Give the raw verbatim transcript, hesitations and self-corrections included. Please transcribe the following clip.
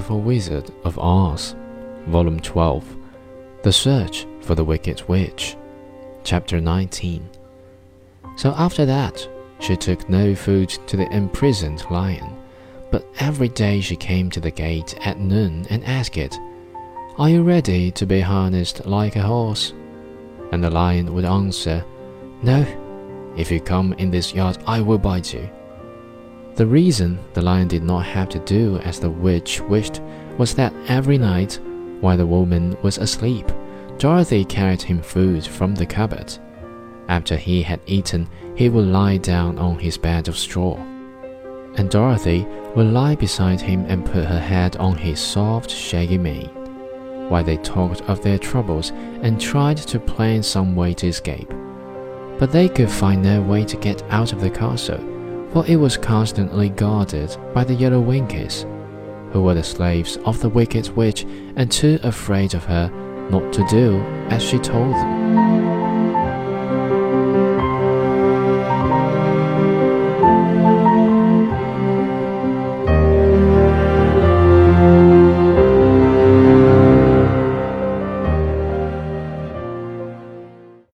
Wonderful Wizard of Oz, Volume twelve, The Search for the Wicked Witch, Chapter nineteen. So after that, she took no food to the imprisoned lion, but every day she came to the gate at noon and asked it, "Are you ready to be harnessed like a horse?" And the lion would answer, "No, if you come in this yard, I will bite you." The reason the lion did not have to do as the witch wished was that every night, while the woman was asleep, Dorothy carried him food from the cupboard. After he had eaten, he would lie down on his bed of straw, and Dorothy would lie beside him and put her head on his soft, shaggy mane, while they talked of their troubles and tried to plan some way to escape. But they could find no way to get out of the castle, for it was constantly guarded by the Yellow Winkies, who were the slaves of the Wicked Witch and too afraid of her not to do as she told them.